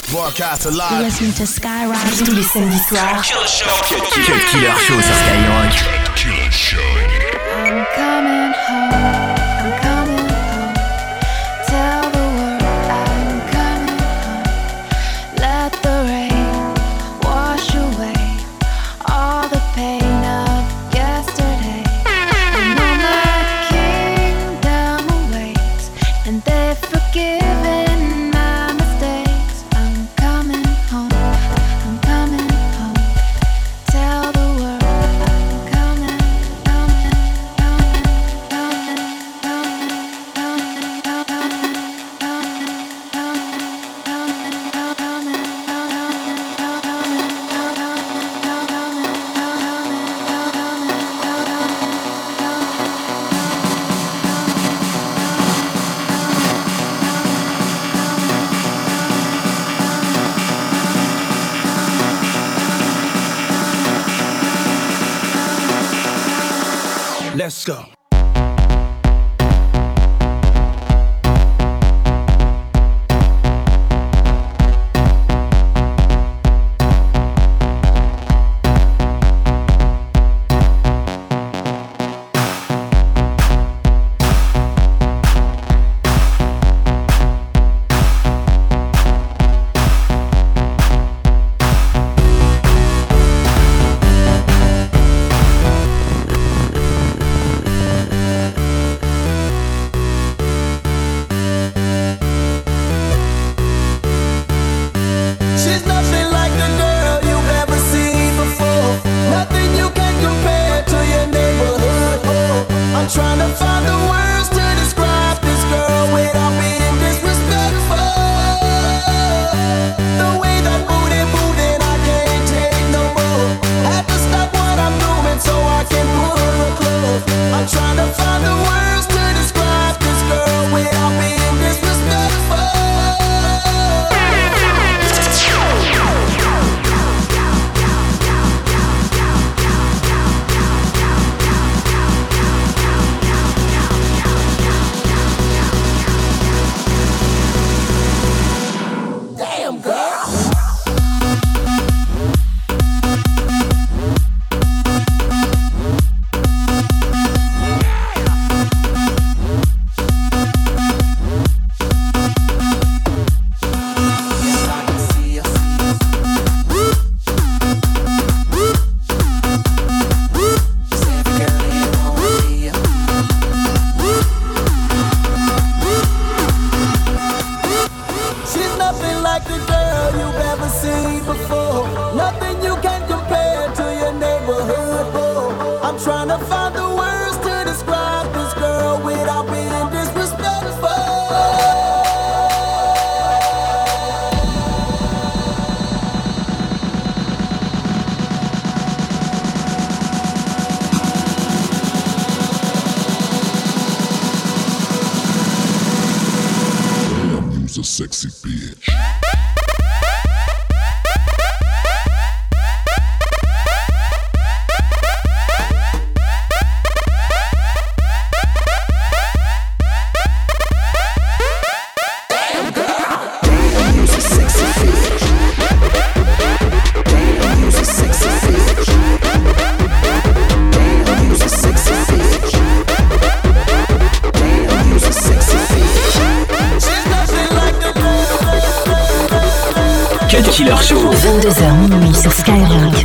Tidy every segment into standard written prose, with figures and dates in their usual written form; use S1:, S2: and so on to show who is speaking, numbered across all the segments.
S1: Broadcast
S2: You're
S1: alive.
S2: listening to Skyrock.
S3: Tous les samedis soirs.
S4: Cut Killer Show sur Skyrock.
S2: I'm coming home. I'm coming home. Tell the world I'm coming home. Let the rain wash away all the pain of yesterday. I know my kingdom awaits, and they've forgiven my mistakes. I'm coming home. I'm coming home. Tell the world I'm coming, coming, coming, coming, coming,
S1: Let's go. She's nothing like the girl you've ever seen before. Nothing you can compare to your neighborhood. Oh, I'm trying to find the words to describe this girl without being disrespectful. The way that booty moving, I can't take no more. Have to stop what I'm doing so I can pull her close. I'm trying to find the words to describe this girl without being disrespectful. Damn, girl. She's nothing like the girl you've ever seen before. Nothing you can compare to your neighborhood. Oh, I'm trying to find the words to describe this girl without being disrespectful.
S5: You's a sexy bitch.
S4: Cut Killer Show.
S3: 22h minuit sur Skyrock.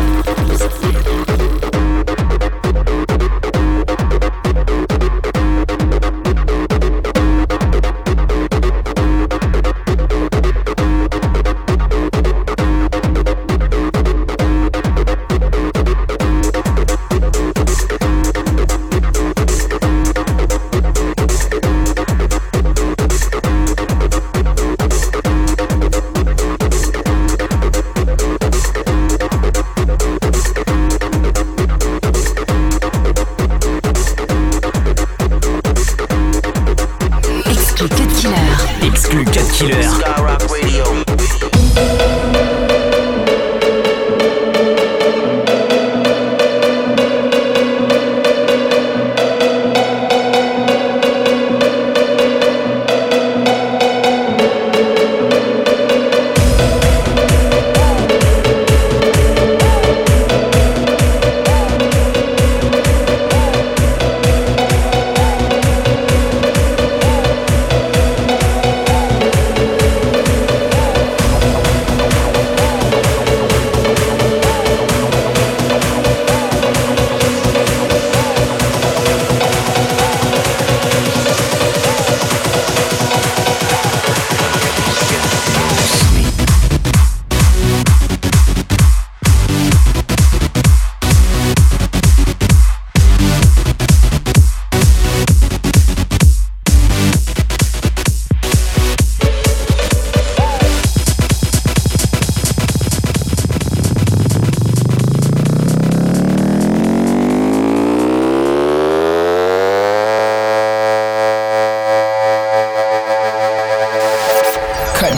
S4: Exclu Cut Killer.
S1: Skyrock Radio.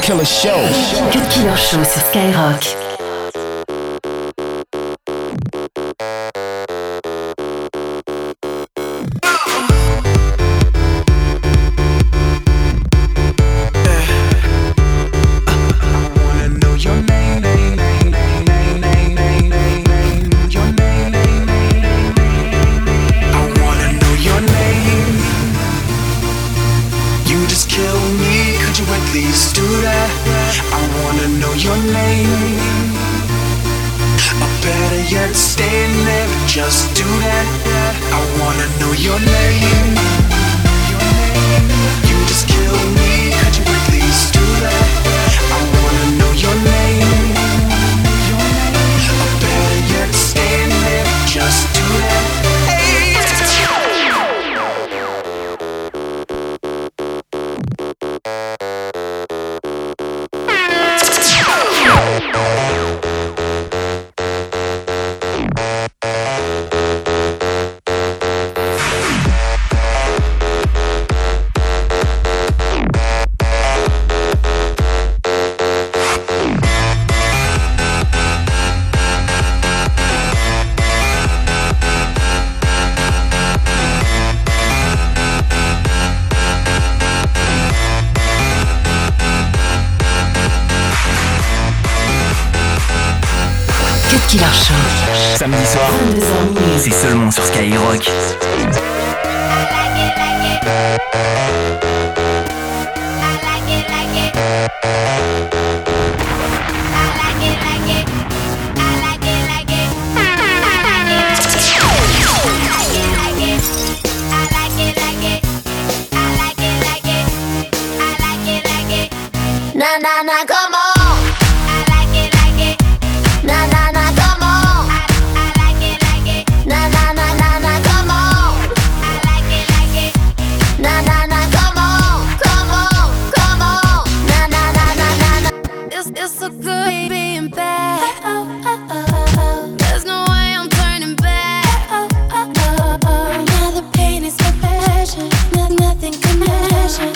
S6: Killer Show.
S3: Cut Killer Show sur Skyrock.
S7: Just do that. I wanna know your name. You just kill me. Could you please do that? I wanna know your name. Or better yet, stand there. Just do that.
S3: Killer Show.
S4: Samedi soir, c'est seulement sur Skyrock.
S2: Na na na, come on.
S8: It's so good being bad. There's no way I'm turning back. Now the pain is my passion. Nothing can measure.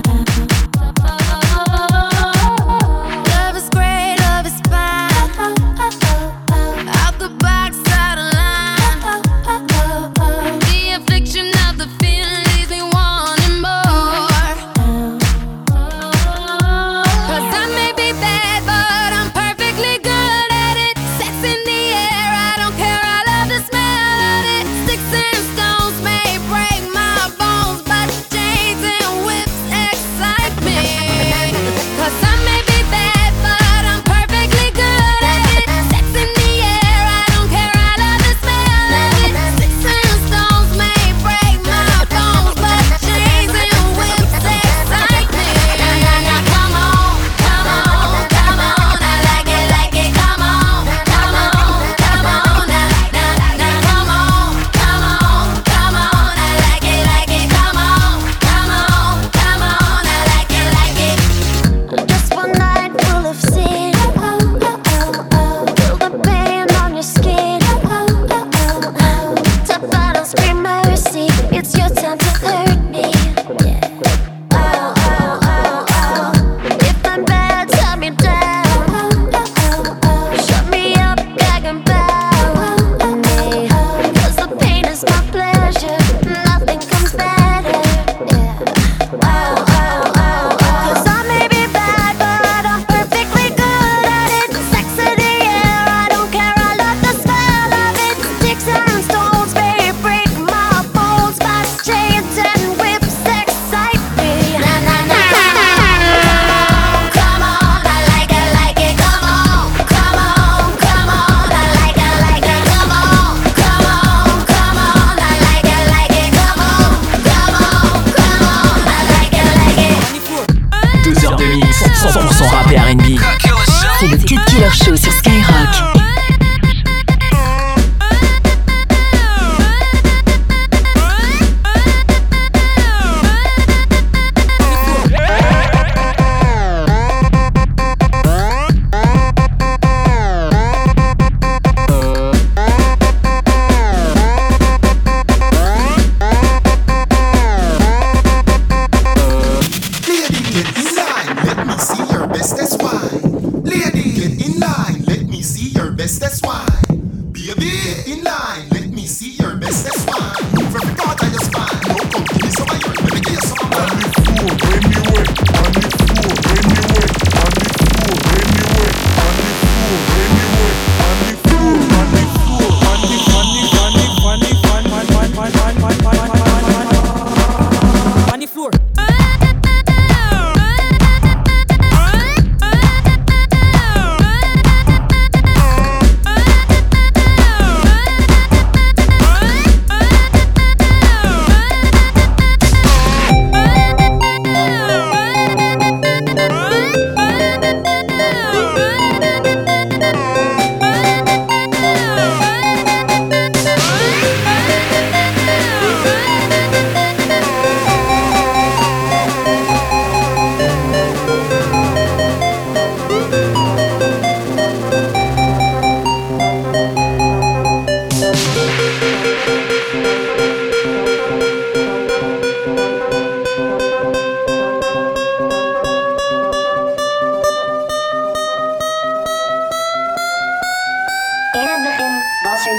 S8: Love is great, love is fine. Out the box, out of line. The affliction of the feeling leaves me wanting more. 'Cause I may be bad, but I'm perfectly good at it. Sex in the air, I don't care, I love the smell of it. Sticks and stones may break my bones, but chains and whips excite me. 'Cause I may be bad, but I'm perfectly good at it. Sex in the air, I don't care, I love the smell of it. Sticks and stones may break my bones, but chains and whips excite me. Come on, come on, come on, I like it, come on, come on, come on, come on, come on, come on, I like it, come on, come on, come on, I like it.
S2: Just one night full of sin. Feel the pain on your skin. Tap out and scream mercy. It's your time to hurt me. Oh, oh, oh, oh. If I'm bad, tie me down. Shut me up, gag and bow. 'Cause the pain is my pleasure. Nothing comes better. Oh, oh, oh, oh. 'Cause I may be bad, but I'm perfectly good at it. Sex in the air, I don't care, I love the smell of it. Sticks and stones may break my bones, but chains and whips excite me. Na na na, come on, I like it, come on, come on, come on, I like it, come on, come on, come on, I like it, come on, come on, come on, I like it.
S4: 2 heures de mix, 100% rap et R&B.
S3: C'est le Cut Killer Show sur Skyrock.
S6: Lady, get inside. Let me see your best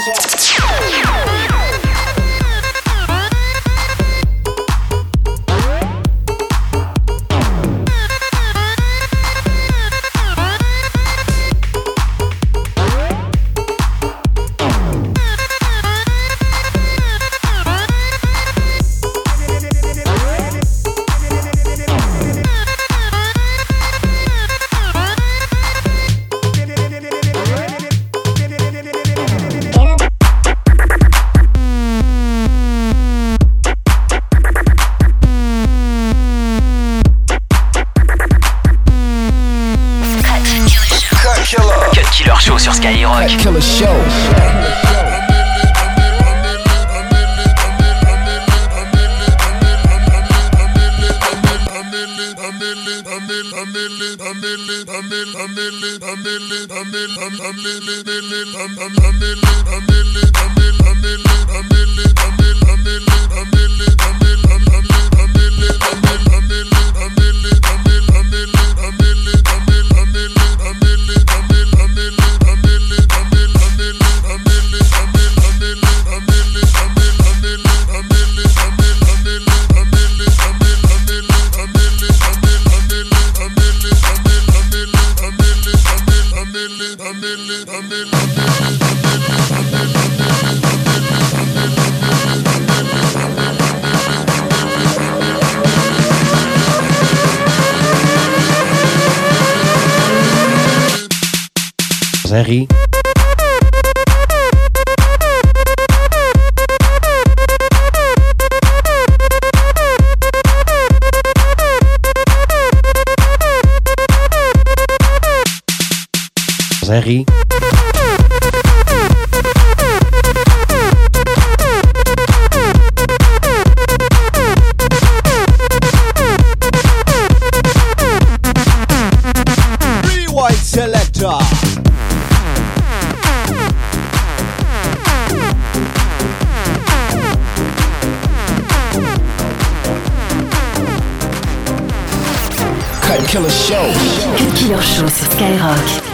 S6: Harry. Harry.
S9: White selector.
S6: Cut Killer Show.
S3: Cut Killer Show sur Skyrock.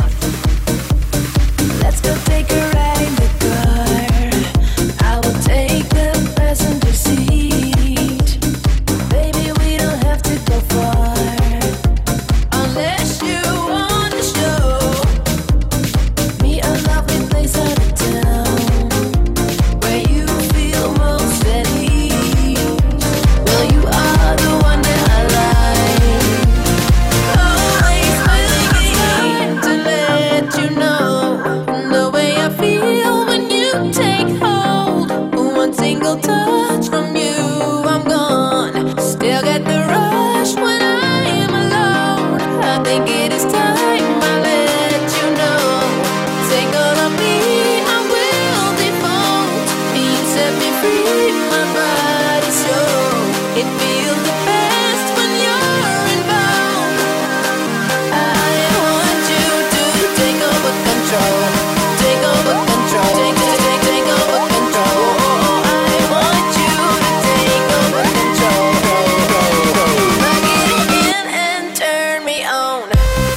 S8: Let's go take a ride in the car. I will take the passenger seat. Baby, we don't have to go far. Unless you want to show me a lovely place out of town where you feel most at ease. Well, you are the one that I like. Always willing to let you know the way I feel when you take hold. One single touch from you, I'm gone. Still get the rush when I am alone. I think it is time I let you know. Take all of me, I will default. You set me free, my body so it feels the best when you're involved. I want you to take over control. Take over control. Take over control. I want you to take over control. Plug it in and turn me on.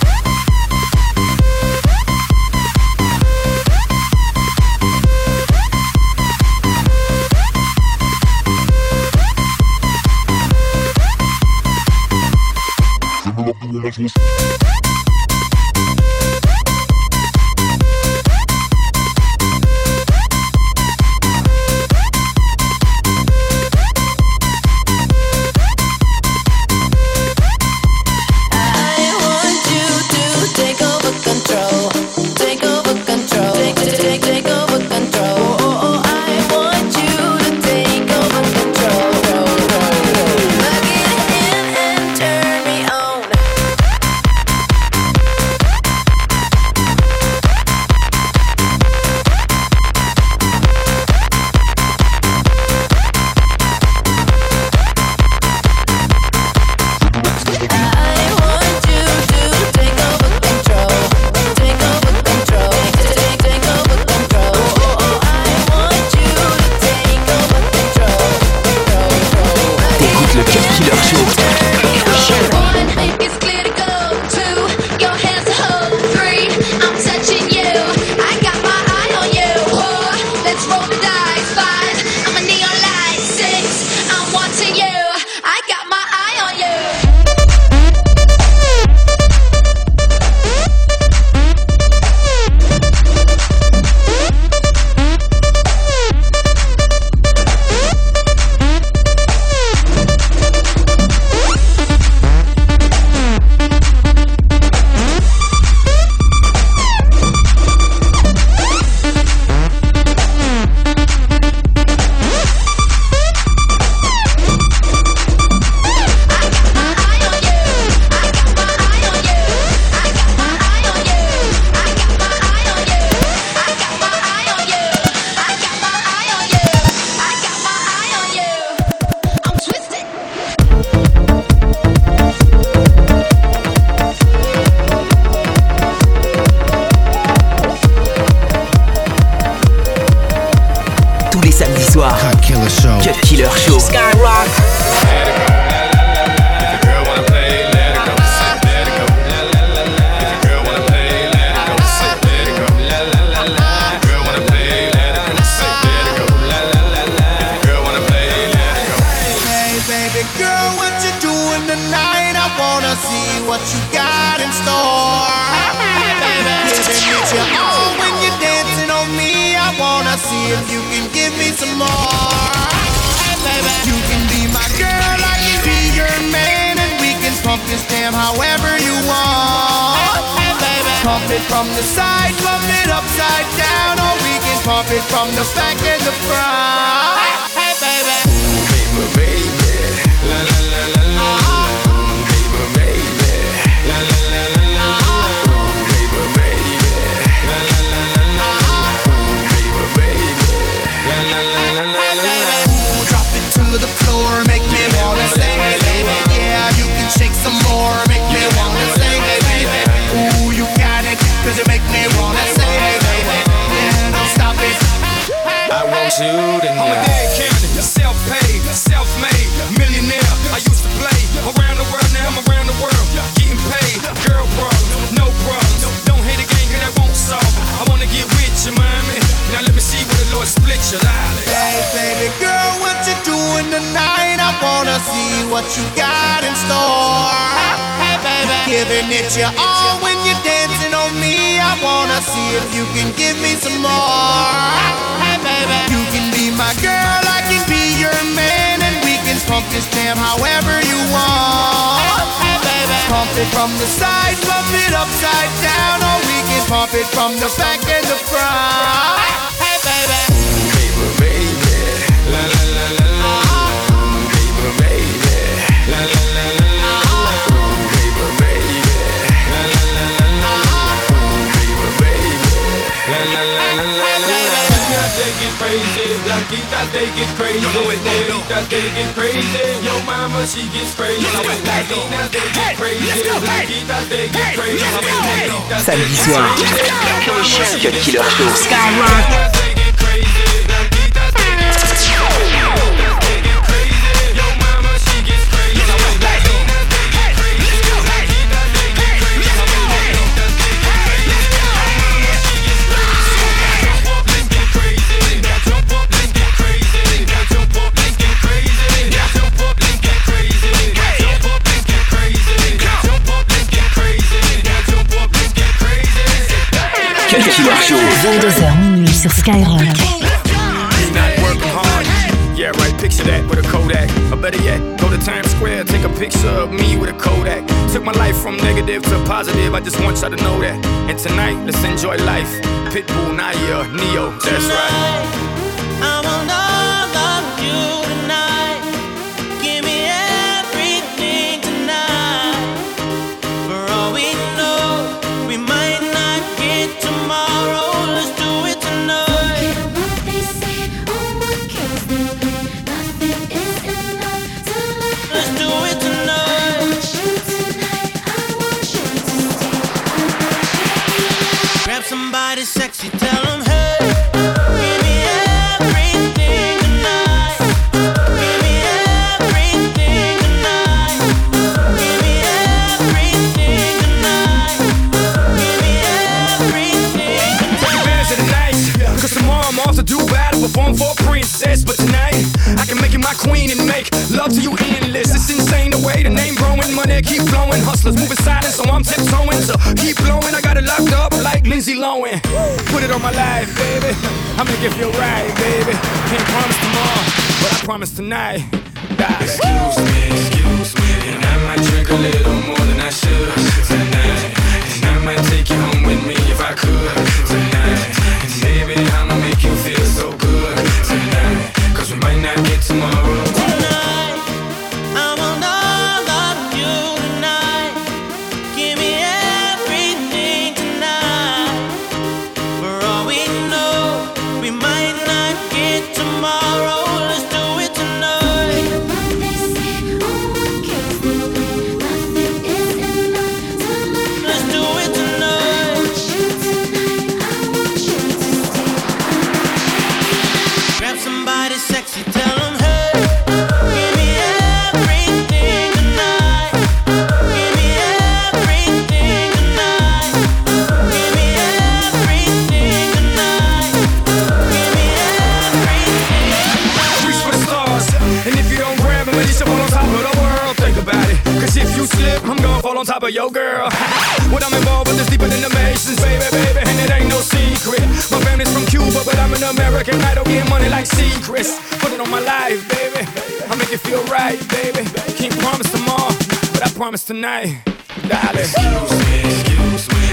S8: I want you to take over control. Take over control. Take over control. I want you to take over control. Plug it in and turn me on.
S4: Cut Killer Show.
S10: Skyrock.
S1: What you got in store, baby? Giving it your all when you're dancing on me. I wanna see if you can give me some more. Hey, baby, you can be my girl, I can be your man, and we can pump this jam however you want. Hey, baby, pump it from the side, pump it upside down, or we can pump it from the back and the front. Hey, baby, baby, baby, la la la la la.
S11: I'm a dead candidate, self-paid, self-made, millionaire. I used to play around the world, now I'm around the world, getting paid. Girl problems, no problems. Don't hate a game, cause that won't solve it. I wanna get with you, mommy. Now let me see where the Lord split your life.
S1: Hey, baby girl, what you doing tonight? I wanna see what you got in store. Hey, baby, giving it your all when you're dancing on me. I wanna see if you can give me some more. Hey, baby, you can be my girl, I can be your man, and we can pump this jam however you want. Hey, baby, pump it from the side, pump it upside down, or we can pump it from the back and the front. Hey, baby, baby, baby, la la la la la. Baby, baby, la la la la la. Baby, baby, la la la la la. Baby, baby, la la la la la.
S11: They get crazy, Blanquita, they get crazy. Negrita, they get crazy. Yo mama, she gets crazy. Latinas, they get crazy. Blanquita, they get crazy.
S4: Samedi soir, Cut Killer Show.
S10: Skyrock.
S4: Cut Killer Show.
S3: 22h minuit sur Skyrock.
S11: Yeah, right, picture that with a Kodak. Or better yet, go to Times Square, take a picture of me with a Kodak. Took my life from negative to positive, I just want y'all to know that. And tonight, let's enjoy life. Pitbull, Naya, Neo, that's right.
S1: I want all of you tonight. Give me everything tonight. For all we know, we might not get tomorrow. Let's do it tonight. Let's do it tonight. Grab somebody sexy, tell them hey. Give me everything tonight. Give me everything tonight. Give me everything tonight. Give me everything tonight.
S11: Take advantage of the night, cause tomorrow I'm off to Dubai to perform for a princess. But tonight, I can make you my queen and make love to you endless. It's insane the way the name growing, money keep flowing. Hustlers moving silent, so I'm tiptoeing. So keep blowing, I got it locked up like Lindsay Lohan. Put it on my life, baby. I'm gonna give you a ride, baby. Can't promise tomorrow, but I promise tonight. Excuse me, and I might drink a little more than I should tonight. And I might take you home with me if I could tonight. And baby, I'ma make you feel so good tonight. Cause we might not get tomorrow.
S1: Tonight, I want all of you tonight. Give me everything tonight. For all we know, we might not get tomorrow. Let's do it tonight. Let's
S11: on top of your girl. What I'm involved with is deeper than the Masons, baby, baby, and it ain't no secret. My family's from Cuba, but I'm an American idol, getting money like secrets. Put it on my life, baby. I'll make it feel right, baby. Can't promise tomorrow, but I promise tonight, darling. Excuse me,